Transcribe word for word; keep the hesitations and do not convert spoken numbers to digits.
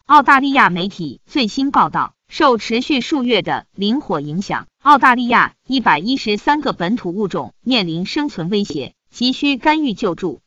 澳大利亚媒体最新报道，受持续数月的林火影响，澳大利亚一百一十三个本土物种面临生存威胁，急需干预救助。